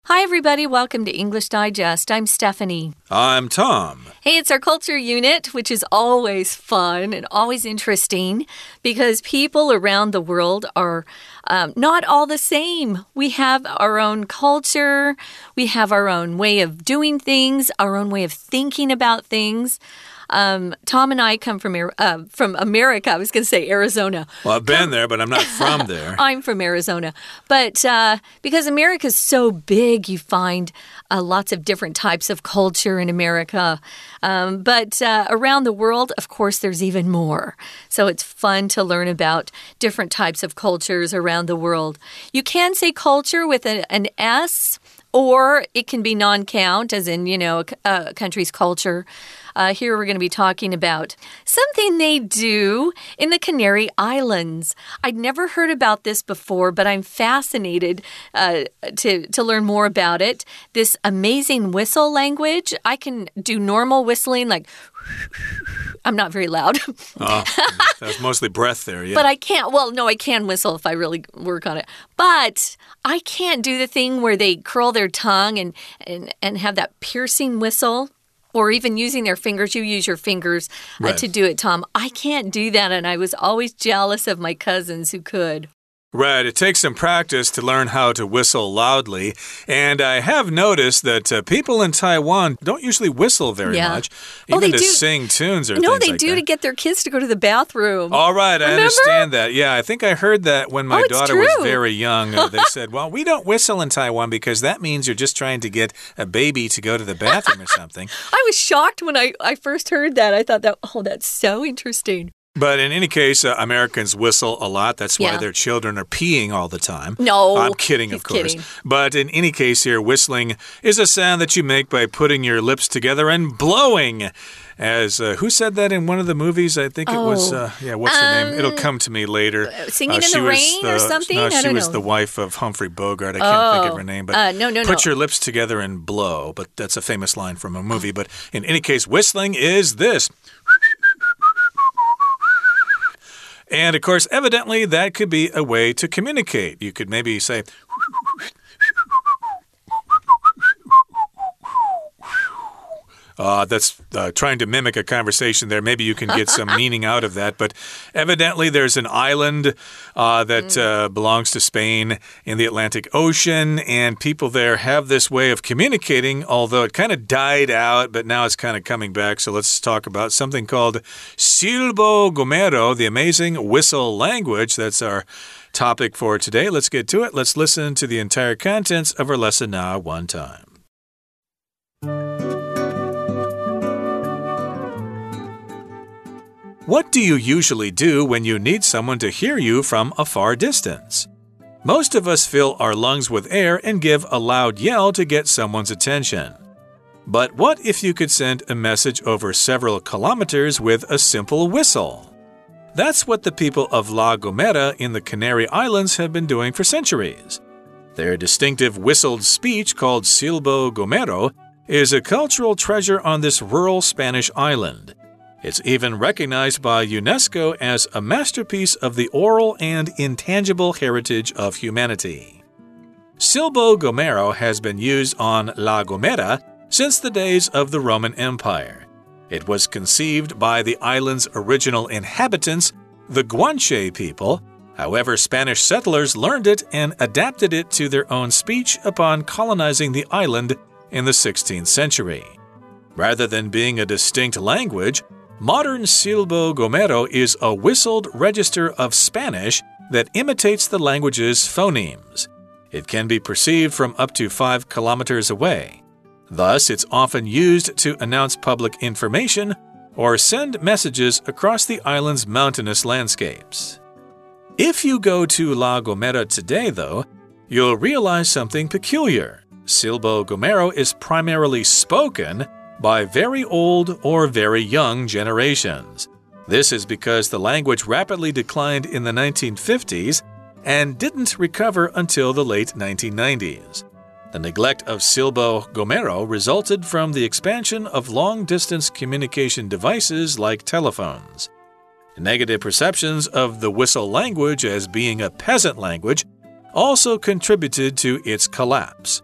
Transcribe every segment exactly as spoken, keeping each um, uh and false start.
Hi, everybody. Welcome to English Digest. I'm Stephanie. I'm Tom. Hey, it's our culture unit, which is always fun and always interesting because people around the world are um, not all the same. We have our own culture. We have our own way of doing things, our own way of thinking about things. Um, Tom and I come from uh, from America. I was going to say Arizona. Well, I've been there, but I'm not from there. I'm from Arizona. But uh, because America is so big, you find uh, lots of different types of culture in America. Um, but uh, around the world, of course, there's even more. So it's fun to learn about different types of cultures around the world. You can say culture with a, an S, or it can be non-count, as in, you know, a, a country's culture. Uh, here we're going to be talking about something they do in the Canary Islands. I'd never heard about this before, but I'm fascinated uh, to, to learn more about it. This amazing whistle language. I can do normal whistling, like... I'm not very loud. Oh, that's mostly breath there, yeah. But I can't, well, no, I can whistle if I really work on it. But I can't do the thing where they curl their tongue and, and, and have that piercing whistle. Or even using their fingers. You use your fingers uh, right. to do it, Tom. I can't do that, and I was always jealous of my cousins who could. Right. It takes some practice to learn how to whistle loudly. And I have noticed that uh, people in Taiwan don't usually whistle very yeah. much, oh, even they to do. sing tunes or no, things they like do that. to get their kids to go to the bathroom. All right. Remember? I understand that. Yeah, I think I heard that when my oh, daughter true. was very young. Uh, they said, well, we don't whistle in Taiwan because that means you're just trying to get a baby to go to the bathroom or something. I was shocked when I, I first heard that. I thought that, oh, that's so interesting. But in any case, uh, Americans whistle a lot. That's why yeah. their children are peeing all the time. No. I'm kidding, he's of course. Kidding. But in any case here, whistling is a sound that you make by putting your lips together and blowing. As uh, who said that in one of the movies? I think it oh. was, uh, yeah, what's um, her name? It'll come to me later. Singing uh, in the Rain the, or something? No, I she don't was know. the wife of Humphrey Bogart. I can't oh. think of her name. But uh, no, no, put no. your lips together and blow. But that's a famous line from a movie. But in any case, whistling is this. And, of course, evidently, that could be a way to communicate. You could maybe say... Uh, that's uh, trying to mimic a conversation there. Maybe you can get some meaning out of that. But evidently, there's an island uh, that mm. uh, belongs to Spain in the Atlantic Ocean. And people there have this way of communicating, although it kind of died out, but now it's kind of coming back. So let's talk about something called Silbo Gomero, the amazing whistle language. That's our topic for today. Let's get to it. Let's listen to the entire contents of our lesson now one time. What do you usually do when you need someone to hear you from a far distance? Most of us fill our lungs with air and give a loud yell to get someone's attention. But what if you could send a message over several kilometers with a simple whistle? That's what the people of La Gomera in the Canary Islands have been doing for centuries. Their distinctive whistled speech, called Silbo Gomero, is a cultural treasure on this rural Spanish island. It's even recognized by UNESCO as a masterpiece of the oral and intangible heritage of humanity. Silbo Gomero has been used on La Gomera since the days of the Roman Empire. It was conceived by the island's original inhabitants, the Guanche people. However, Spanish settlers learned it and adapted it to their own speech upon colonizing the island in the sixteenth century. Rather than being a distinct language, modern Silbo Gomero is a whistled register of Spanish that imitates the language's phonemes. It can be perceived from up to five kilometers away. Thus, it's often used to announce public information or send messages across the island's mountainous landscapes. If you go to La Gomera today, though, you'll realize something peculiar. Silbo Gomero is primarily spoken by very old or very young generations. This is because the language rapidly declined in the nineteen fifties and didn't recover until the late nineteen nineties. The neglect of Silbo Gomero resulted from the expansion of long-distance communication devices like telephones. Negative perceptions of the whistle language as being a peasant language also contributed to its collapse.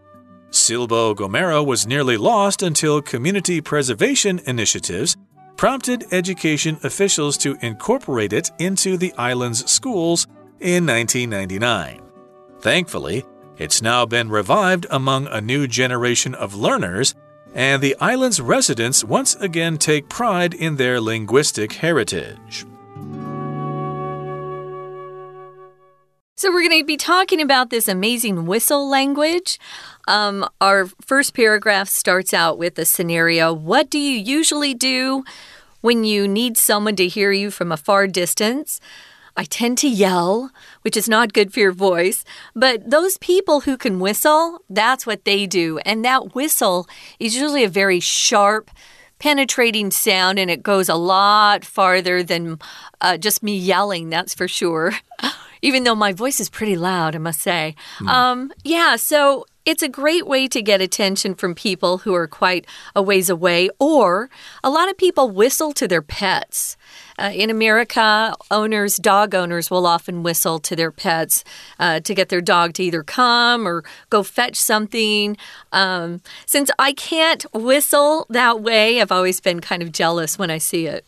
Silbo Gomero was nearly lost until community preservation initiatives prompted education officials to incorporate it into the island's schools in nineteen ninety-nine. Thankfully, it's now been revived among a new generation of learners, and the island's residents once again take pride in their linguistic heritage. So we're going to be talking about this amazing whistle language. Um, our first paragraph starts out with a scenario. What do you usually do when you need someone to hear you from a far distance? I tend to yell, which is not good for your voice. But those people who can whistle, that's what they do. And that whistle is usually a very sharp, penetrating sound, and it goes a lot farther than uh, just me yelling, that's for sure. Even though my voice is pretty loud, I must say. Mm. Um, yeah, so it's a great way to get attention from people who are quite a ways away. Or a lot of people whistle to their pets. Uh, in America, owners, dog owners will often whistle to their pets uh, to get their dog to either come or go fetch something. Um, since I can't whistle that way, I've always been kind of jealous when I see it.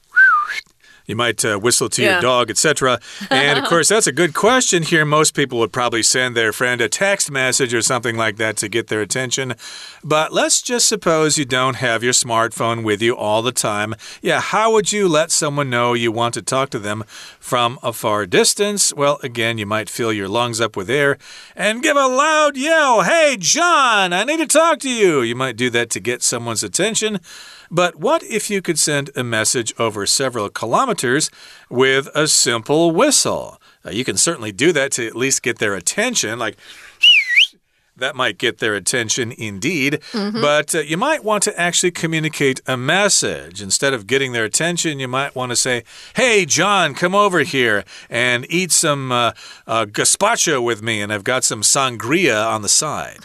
You might uh, whistle to yeah. your dog, et cetera. And, of course, that's a good question here. Most people would probably send their friend a text message or something like that to get their attention. But let's just suppose you don't have your smartphone with you all the time. Yeah, how would you let someone know you want to talk to them from a far distance? Well, again, you might fill your lungs up with air and give a loud yell. Hey, John, I need to talk to you. You might do that to get someone's attention. But what if you could send a message over several kilometers with a simple whistle? Uh, you can certainly do that to at least get their attention, like that might get their attention indeed. Mm-hmm. But uh, you might want to actually communicate a message. Instead of getting their attention, you might want to say, hey, John, come over here and eat some uh, uh, gazpacho with me, and I've got some sangria on the side.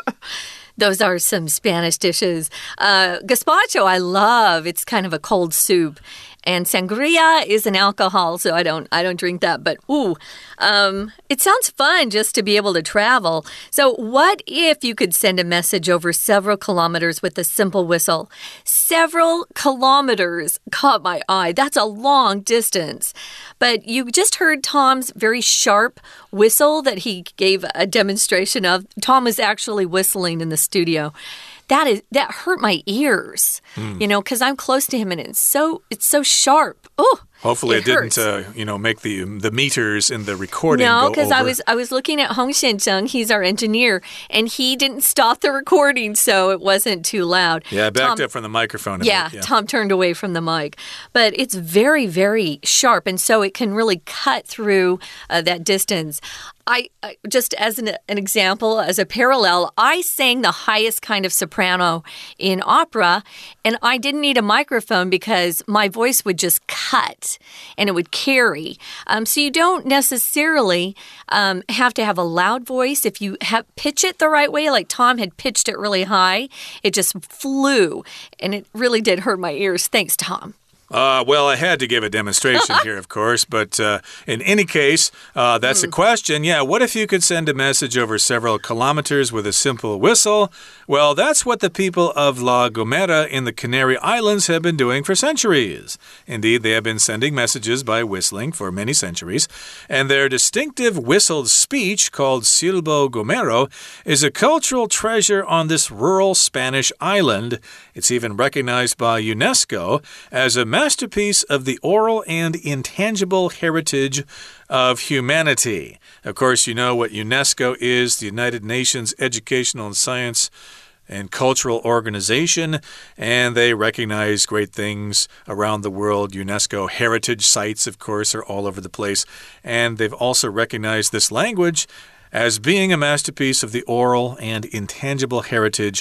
Those are some Spanish dishes. Uh, gazpacho, I love. It's kind of a cold soup. And sangria is an alcohol, so I don't I don't drink that. But, ooh, um, it sounds fun just to be able to travel. So what if you could send a message over several kilometers with a simple whistle? Several kilometers caught my eye. That's a long distance. But you just heard Tom's very sharp whistle that he gave a demonstration of. Tom was actually whistling in the studio. That is that hurt my ears, mm. you know, because I'm close to him and it's so it's so sharp. Oh, hopefully it, it didn't, uh, you know, make the the meters in the recording no, go over. No, because I was I was looking at Hong Xianzheng. He's our engineer, and he didn't stop the recording, so it wasn't too loud. Yeah, I backed Tom, up from the microphone. A yeah, bit, yeah, Tom turned away from the mic, but it's very, very sharp, and so it can really cut through uh, that distance. I, I just as an, an example, as a parallel, I sang the highest kind of soprano in opera, and I didn't need a microphone because my voice would just cut and it would carry. Um, so you don't necessarily um, have to have a loud voice. If you have pitch it the right way, like Tom had pitched it really high, it just flew, and it really did hurt my ears. Thanks, Tom. Uh, well, I had to give a demonstration here, of course, but uh, in any case, uh, that's mm. a question. Yeah, what if you could send a message over several kilometers with a simple whistle? Well, that's what the people of La Gomera in the Canary Islands have been doing for centuries. Indeed, they have been sending messages by whistling for many centuries, and their distinctive whistled speech, called Silbo Gomero, is a cultural treasure on this rural Spanish island. It's even recognized by UNESCO as a masterpiece of the oral and intangible heritage of humanity. Of course, you know what UNESCO is, the United Nations Educational and Science and Cultural Organization, and they recognize great things around the world. UNESCO heritage sites, of course, are all over the place, and they've also recognized this language as being a masterpiece of the oral and intangible heritage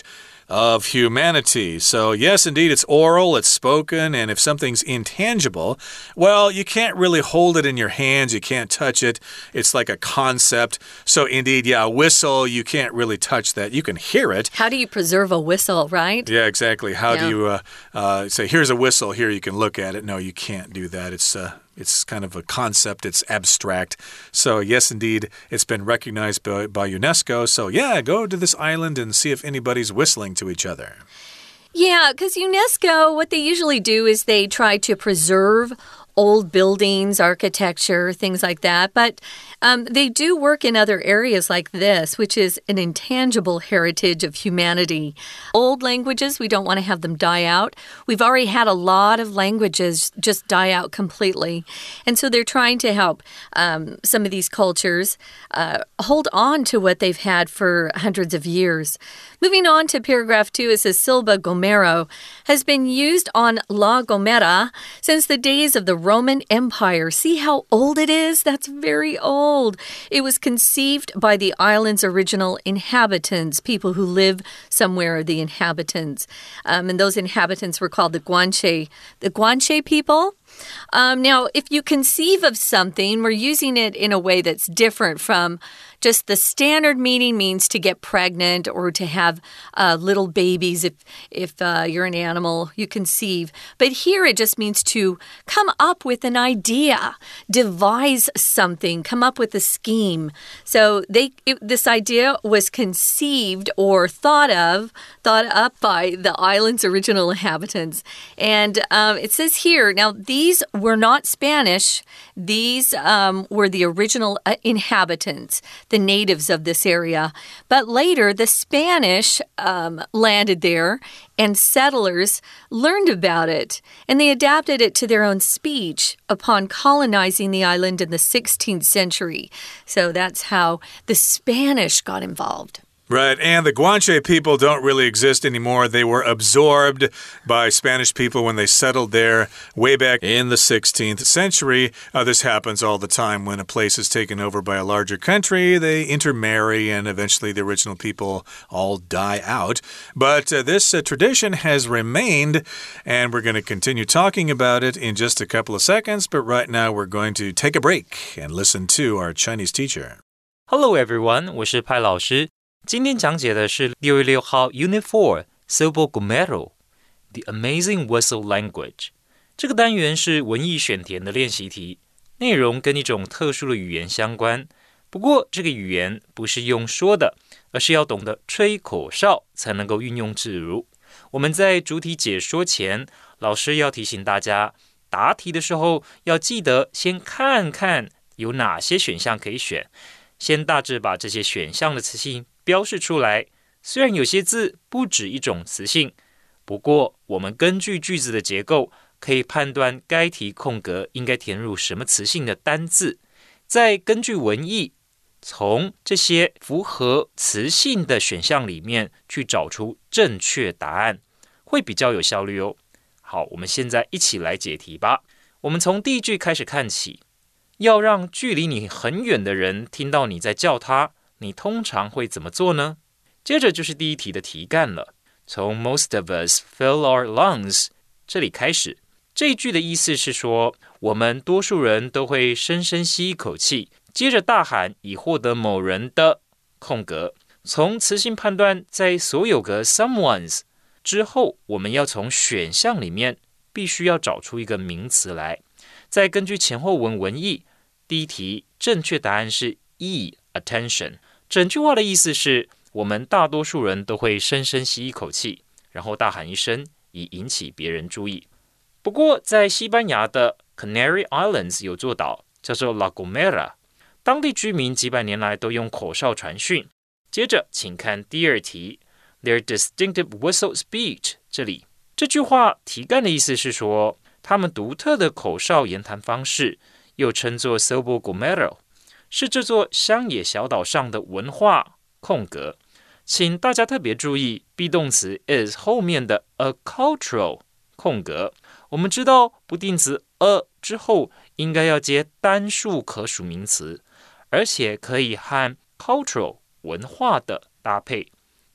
of humanity. So, yes, indeed, it's oral, it's spoken, and if something's intangible, well, you can't really hold it in your hands, you can't touch it. It's like a concept. So, indeed, yeah, a whistle, you can't really touch that. You can hear it. How do you preserve a whistle, right? Yeah, exactly. How yeah. do you uh, uh, say, here's a whistle, here you can look at it? No, you can't do that. It's uh, It's kind of a concept. It's abstract. So, yes, indeed, it's been recognized by, by UNESCO. So, yeah, go to this island and see if anybody's whistling to each other. Yeah, because UNESCO, what they usually do is they try to preserve old buildings, architecture, things like that. But um, they do work in other areas like this, which is an intangible heritage of humanity. Old languages, we don't want to have them die out. We've already had a lot of languages just die out completely. And so they're trying to help um, some of these cultures uh, hold on to what they've had for hundreds of years. Moving on to paragraph two, it says Silva Gomero has been used on La Gomera since the days of the Roman Empire. See how old it is? That's very old. It was conceived by the island's original inhabitants, people who live somewhere, the inhabitants. Um, and those inhabitants were called the Guanche. The Guanche people? Um, now, if you conceive of something, we're using it in a way that's different from just the standard meaning means to get pregnant or to have uh, little babies if, if uh, you're an animal, you conceive. But here it just means to come up with an idea, devise something, come up with a scheme. So they it, this idea was conceived or thought of, thought up by the island's original inhabitants. And um, it says here, now these were not Spanish. These um, were the original uh, inhabitants, the natives of this area. But later, the Spanish um, landed there and settlers learned about it. And they adapted it to their own speech upon colonizing the island in the sixteenth century. So that's how the Spanish got involved. Right, and the Guanche people don't really exist anymore. They were absorbed by Spanish people when they settled there way back in the sixteenth century. Uh, this happens all the time when a place is taken over by a larger country. They intermarry, and eventually the original people all die out. But uh, this uh, tradition has remained, and we're going to continue talking about it in just a couple of seconds. But right now we're going to take a break and listen to our Chinese teacher. Hello everyone, 我是派老師。今天講解的是六月六號 Unit four Silva Gomero The Amazing Whistle Language 這個單元是文意選填的練習題，內容跟一種特殊的語言相關。不過這個語言不是用說的，而是要懂得吹口哨才能夠運用自如。我們在主題解說前，老師要提醒大家，答題的時候要記得先看看有哪些選項可以選，先大致把這些選項的詞性標示出來，雖然有些字不止一種詞性，不過我們根據句子的結構，可以判斷該題空格應該填入什麼詞性的單字，再根據文意，從這些符合詞性的選項裡面去找出正確答案，會比較有效率哦。好，我們現在一起來解題吧。我們從第一句開始看起，要讓距離你很遠的人聽到你在叫他，你通常會怎麼做呢？接着就是第一題的題幹了。從 Most of us fill our lungs 這裡開始，這一句的意思是說，我們多數人都會深深吸一口氣，接着大喊以獲得某人的空格。從詞性判斷，在所有個 someone's 之後，我們要從選項裡面必須要找出一個名詞來。再根據前後文文意，第一題正確答案是 E attention。整句話的意思是，我們大多數人都會深深吸一口氣，然後大喊一聲，以引起別人注意。不過，在西班牙的 Canary Islands 有座島叫做 La Gomera， 當地居民幾百年來都用口哨傳訊。接着，請看第二題 Their distinctive whistle speech 這裡，這句話題幹的意思是說，他們獨特的口哨言談方式，又稱作 Silva Gomero，是這座鄉野小島上的文化空格。請大家特別注意 be 動詞 is 後面的 a cultural 空格。我們知道不定詞 a 之後應該要接單數可數名詞，而且可以和 cultural 文化的搭配。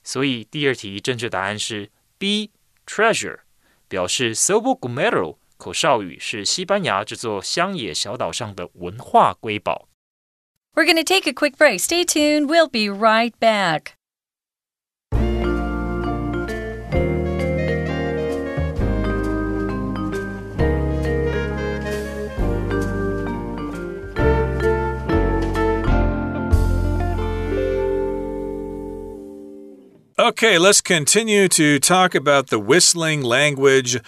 所以第二題正確答案是 B treasure， 表示 Sobo Gumero 口哨語是西班牙這座鄉野小島上的文化瑰寶。 We're going to take a quick break. Stay tuned. We'll be right back. Okay, let's continue to talk about the whistling language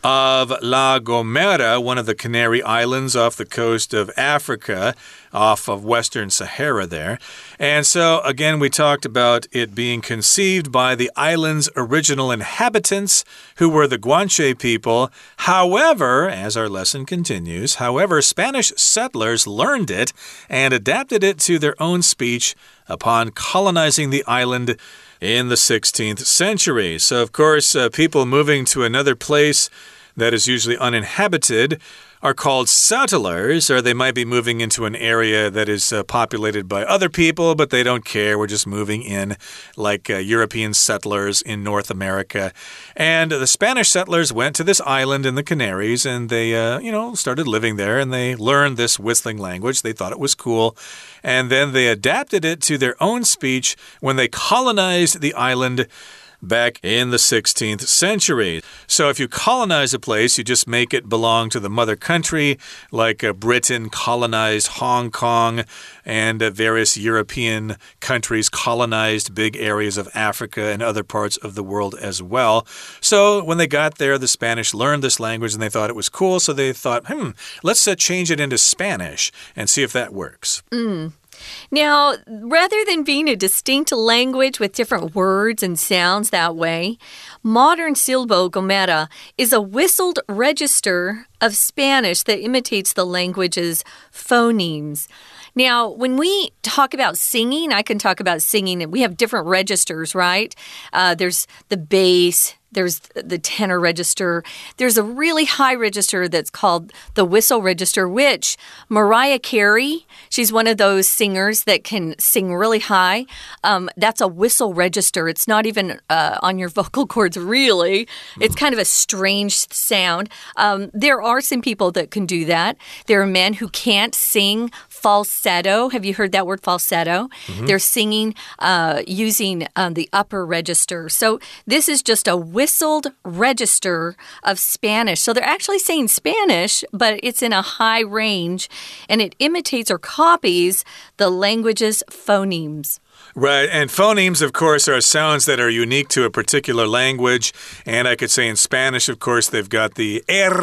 of La Gomera, one of the Canary Islands off the coast of Africa, off of Western Sahara there. And so, again, we talked about it being conceived by the island's original inhabitants, who were the Guanche people. However, as our lesson continues, however, Spanish settlers learned it and adapted it to their own speech upon colonizing the island in the sixteenth century. So, of course, uh, people moving to another place that is usually uninhabited are called settlers, or they might be moving into an area that is uh, populated by other people, but they don't care. We're just moving in like uh, European settlers in North America. And the Spanish settlers went to this island in the Canaries, and they, uh, you know, started living there, and they learned this whistling language. They thought it was cool. And then they adapted it to their own speech when they colonized the island back in the sixteenth century. So if you colonize a place, you just make it belong to the mother country, like uh, Britain colonized Hong Kong, and uh, various European countries colonized big areas of Africa and other parts of the world as well. So when they got there, the Spanish learned this language and they thought it was cool, so they thought, hmm, let's uh, change it into Spanish and see if that works. Mm. Now, rather than being a distinct language with different words and sounds that way, modern Silbo Gomera is a whistled register of Spanish that imitates the language's phonemes. Now, when we talk about singing, I can talk about singing. We have different registers, right? Uh, there's the bass. There's the tenor register. There's a really high register that's called the whistle register, which Mariah Carey, she's one of those singers that can sing really high. Um, that's a whistle register. It's not even uh, on your vocal cords, really. It's kind of a strange sound. Um, there are some people that can do that. There are men who can't sing falsetto. Have you heard that word, falsetto? Mm-hmm. They're singing uh, using um, the upper register. So this is just a whistled register of Spanish. So they're actually saying Spanish, but it's in a high range, and it imitates or copies the language's phonemes. Right, and phonemes, of course, are sounds that are unique to a particular language. And I could say in Spanish, of course, they've got the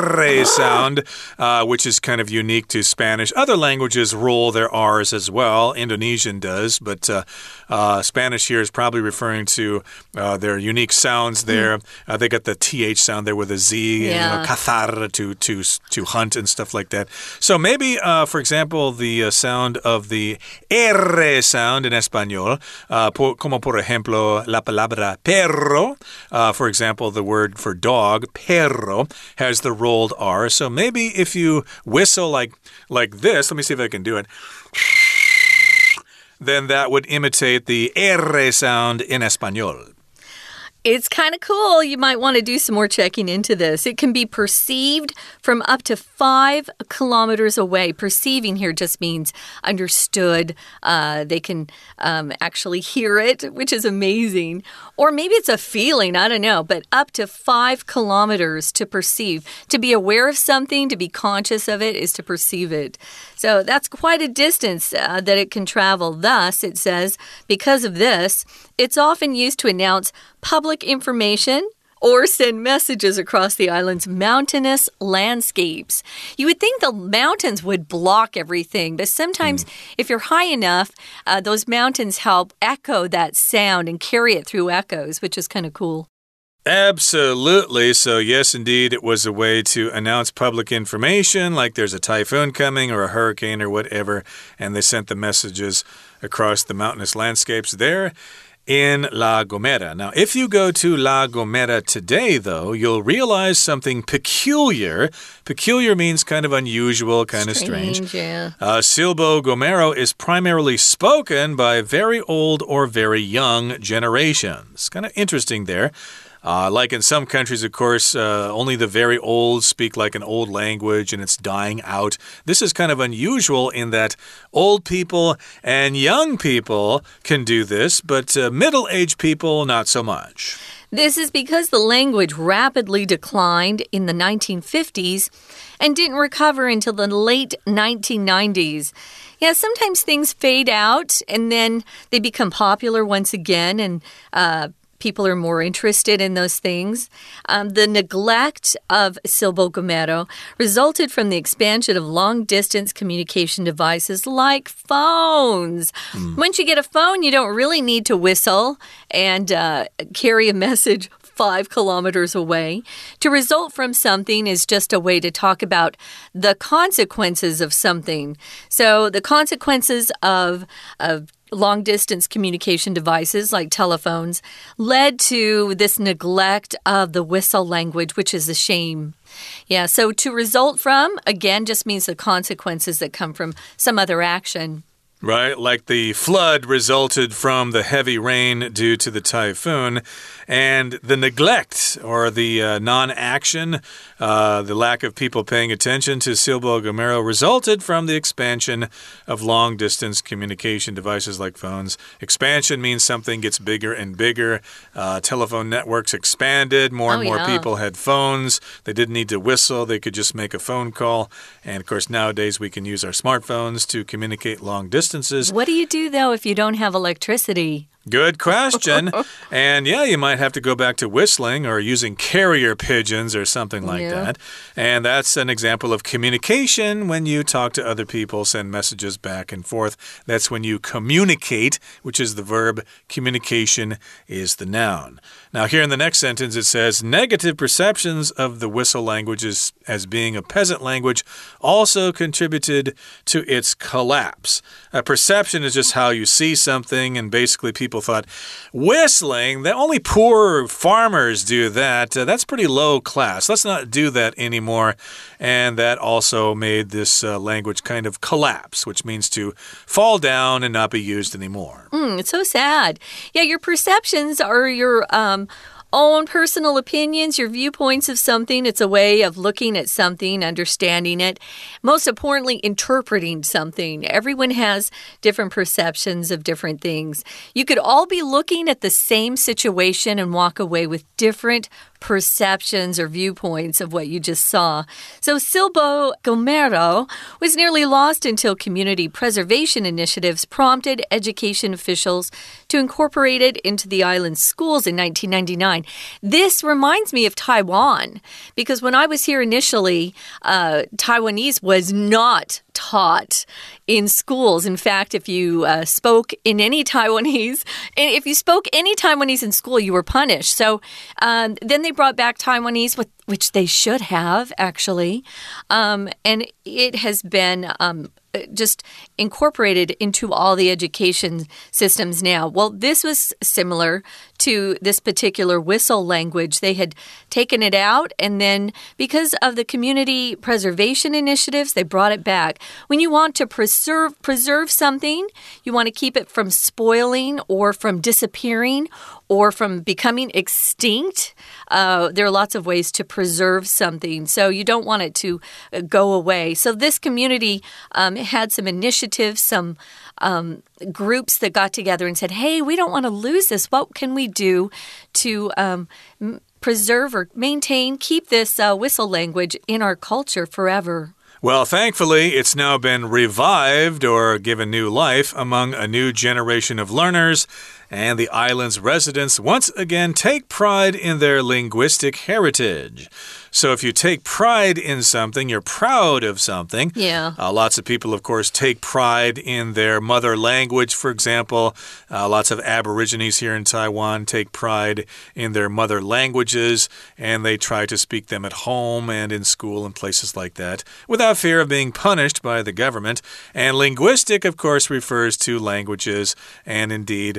R sound, uh, which is kind of unique to Spanish. Other languages roll their R's as well. Indonesian does, but uh, uh, Spanish here is probably referring to uh, their unique sounds there. Mm. Uh, they got the T H sound there with a Z, yeah. and you know, cazar to, to, to hunt and stuff like that. So maybe, uh, for example, the uh, sound of the R sound in Espanol, Uh, por, como por ejemplo, la palabra perro. Uh, for example, the word for dog, perro, has the rolled R. So maybe if you whistle like, like this, let me see if I can do it, then that would imitate the R sound in Espanol. It's kind of cool. You might want to do some more checking into this. It can be perceived from up to five kilometers away. Perceiving here just means understood. Uh, they can um, actually hear it, which is amazing. Or maybe it's a feeling. I don't know. But up to five kilometers to perceive. To be aware of something, to be conscious of it, is to perceive it. So that's quite a distance uh, that it can travel. Thus, it says, because of this, it's often used to announce public information or send messages across the island's mountainous landscapes. You would think the mountains would block everything, but sometimes mm. if you're high enough, uh, those mountains help echo that sound and carry it through echoes, which is kind of cool. Absolutely. So, yes, indeed, it was a way to announce public information, like there's a typhoon coming or a hurricane or whatever, and they sent the messages across the mountainous landscapes there. in La Gomera. Now, if you go to La Gomera today, though, you'll realize something peculiar. Peculiar means kind of unusual, kind of strange. strange. Yeah. Uh, Silbo Gomero is primarily spoken by very old or very young generations. Kind of interesting there. Uh, like in some countries, of course, uh, only the very old speak like an old language and it's dying out. This is kind of unusual in that old people and young people can do this, but uh, middle-aged people, not so much. This is because the language rapidly declined in the nineteen fifties and didn't recover until the late nineteen nineties. Yeah, sometimes things fade out and then they become popular once again and uh people are more interested in those things. Um, the neglect of Silbo Gomero resulted from the expansion of long-distance communication devices like phones. Mm. Once you get a phone, you don't really need to whistle and uh, carry a message five kilometers away. To result from something is just a way to talk about the consequences of something. So the consequences of, of long-distance communication devices like telephones led to this neglect of the whistle language, which is a shame. Yeah, so to result from, again, just means the consequences that come from some other action. Right, like the flood resulted from the heavy rain due to the typhoon, and the neglect or the uh, non-action, uh, the lack of people paying attention to Silbo Gomero resulted from the expansion of long-distance communication devices like phones. Expansion means something gets bigger and bigger. Uh, telephone networks expanded. More and oh, more yeah. people had phones. They didn't need to whistle. They could just make a phone call. And, of course, nowadays we can use our smartphones to communicate long distance. What do you do, though, if you don't have electricity? Good question. And yeah, you might have to go back to whistling or using carrier pigeons or something like yeah. that. And that's an example of communication when you talk to other people, send messages back and forth. That's when you communicate, which is the verb. Communication is the noun. Now, here in the next sentence, it says, negative perceptions of the whistle languages as being a peasant language also contributed to its collapse. A perception is just how you see something, and basically people thought, whistling, that only poor farmers do that. Uh, that's pretty low class. Let's not do that anymore. And that also made this uh, language kind of collapse, which means to fall down and not be used anymore. Mm, it's so sad. Yeah, your perceptions are your um, own personal opinions, your viewpoints of something. It's a way of looking at something, understanding it. Most importantly, interpreting something. Everyone has different perceptions of different things. You could all be looking at the same situation and walk away with different perceptions or viewpoints of what you just saw. So Silbo Gomero was nearly lost until community preservation initiatives prompted education officials to incorporate it into the island's schools in nineteen ninety-nine. This reminds me of Taiwan, because when I was here initially, uh, Taiwanese was not taught in schools. In fact, if you uh, spoke in any Taiwanese, if you spoke any Taiwanese in school, you were punished. So um, then they brought back Taiwanese, which they should have, actually. Um, and it has been um, just incorporated into all the education systems now. Well, this was similar to this particular whistle language. They had taken it out, and then because of the community preservation initiatives, they brought it back. When you want to preserve preserve something, you want to keep it from spoiling or from disappearing or from becoming extinct. Uh, there are lots of ways to preserve something, so you don't want it to uh, go away. So this community um, had some initiatives, some um, groups that got together and said, hey, we don't want to lose this. What can we do to um, m- preserve or maintain, keep this uh, whistle language in our culture forever? Well, thankfully, it's now been revived or given new life among a new generation of learners, and the island's residents once again take pride in their linguistic heritage. So if you take pride in something, you're proud of something. Yeah. Uh, lots of people, of course, take pride in their mother language, for example. Uh, lots of Aborigines here in Taiwan take pride in their mother languages, and they try to speak them at home and in school and places like that without fear of being punished by the government. And linguistic, of course, refers to languages, and indeed, uh,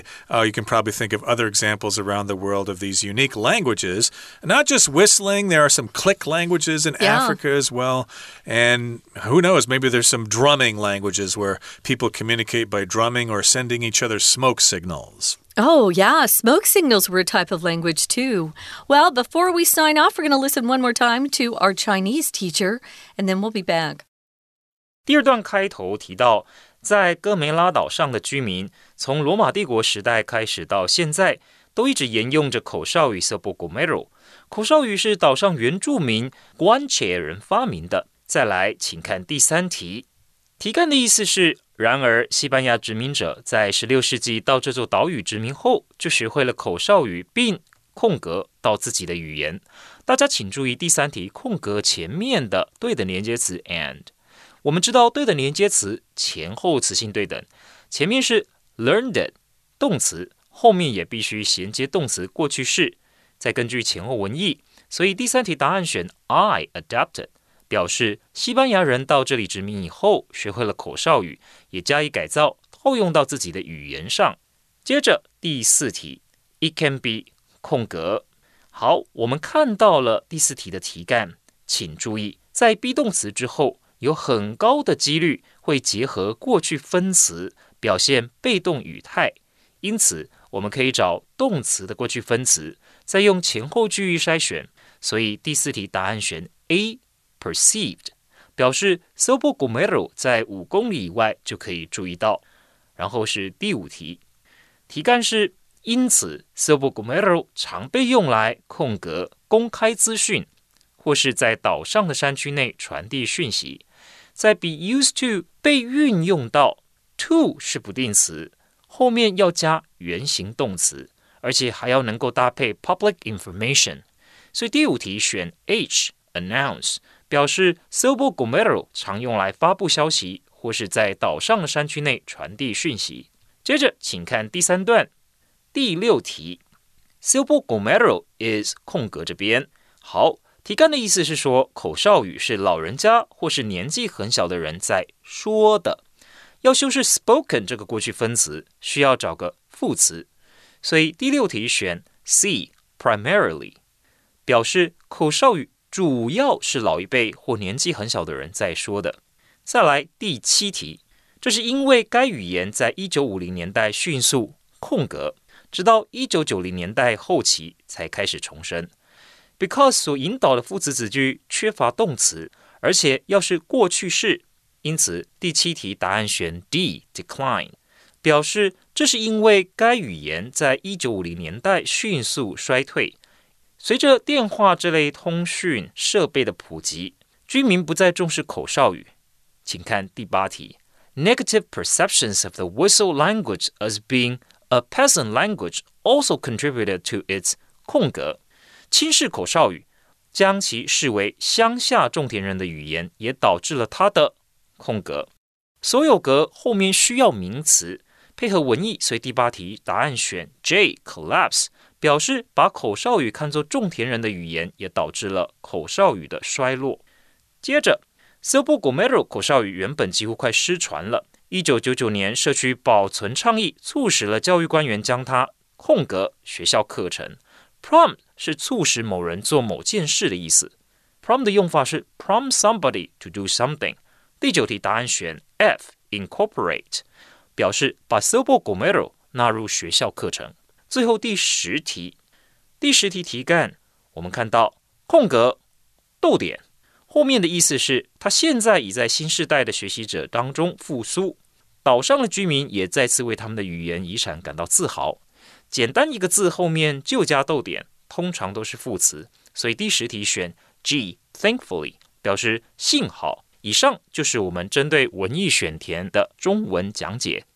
you can probably think of other examples around the world of these unique languages. Not just whistling, there are some click languages in yeah. Africa as well. And who knows, maybe there's some drumming languages where people communicate by drumming or sending each other smoke signals. Oh, yeah. Smoke signals were a type of language, too. Well, before we sign off, we're going to listen one more time to our Chinese teacher, and then we'll be back. 第二段開頭提到，在哥梅拉島上的居民，從羅馬帝國時代開始到現在，都一直沿用着口哨語 Sopo Gomero。口哨語是島上原住民 Guanche 人發明的。再來，請看第三題。題幹的意思是，然而西班牙殖民者在十六世紀到這座島嶼殖民後，就學會了口哨語，並空格到自己的語言。大家請注意第三題空格前面的對等連接詞 and。我們知道對等連接詞前後詞性對等，前面是 learned 動詞，後面也必須銜接動詞過去式，再根據前後文意，所以第三題答案選 I adapted。表示西班牙人到這裡殖民以後，學會了口哨語，也加以改造，套用到自己的語言上。接着第四題 ，It can be 空格。好，我們看到了第四題的題幹，請注意，在 be 動詞之後，有很高的幾率會結合過去分詞，表現被動語態。因此，我們可以找動詞的過去分詞，再用前後句意篩選。所以第四題答案選 A。Perceived 表示 Sopo Gomero 在五公里以外就可以注意到。然後是第五題，題幹是因此 Sopo Gomero 常被用來空格公開資訊，或是在島上的山區內傳遞訊息。在 be used to 被運用到 to 是不定詞，後面要加原形動詞，而且還要能夠搭配 public information。所以第五題選 H announce。表示 Sopo Gomero 常用來發布消息，或是在島上的山區內傳遞訊息。接着，請看第三段第六題 ，Sopo Gomero is 空格這邊。好，題幹的意思是說，口哨語是老人家或是年紀很小的人在說的。要修飾 spoken 這個過去分詞，需要找個副詞，所以第六題選 C primarily， 表示口哨語主要是老一輩或年紀很小的人在說的。再來第七題，這是因為該語言在一九五零年代迅速空格，直到一九九零年代後期才開始重生。Because 所引導的副詞子句缺乏動詞，而且要是過去式，因此第七題答案選 D decline， 表示這是因為該語言在一九五零年代迅速衰退。隨着電話這類通訊設備的普及，居民不再重視口哨語。請看第八題 ，Negative perceptions of the whistle language as being a peasant language also contributed to its 空格。輕視口哨語，將其視為鄉下種田人的語言，也導致了它的空格。所有格後面需要名詞，配合文意，所以第八題答案選 J collapse。表示把口哨語看作種田人的語言，也導致了口哨語的衰落。接着 Sopo Gomero 口哨語原本幾乎快失傳了。一九九九年社區保存倡議促使了教育官員將它空格學校課程。Prompt 是促使某人做某件事的意思。Prompt 的用法是 prompt somebody to do something。第九題答案選 F incorporate， 表示把 Sopo Gomero 納入學校課程。最後第十題，第十題題幹，我們看到空格逗點，後面的意思是，他現在已在新世代的學習者當中復甦，島上的居民也再次為他們的語言遺產感到自豪。簡單一個字後面就加逗點，通常都是副詞，所以第十題選 G thankfully， 表示幸好。以上就是我們針對文意選填的中文講解。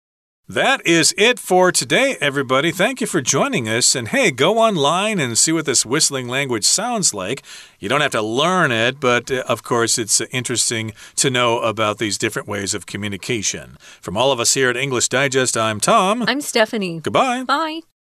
That is it for today, everybody. Thank you for joining us. And hey, go online and see what this whistling language sounds like. You don't have to learn it, but uh, of course, it's uh, interesting to know about these different ways of communication. From all of us here at English Digest, I'm Tom. I'm Stephanie. Goodbye. Bye.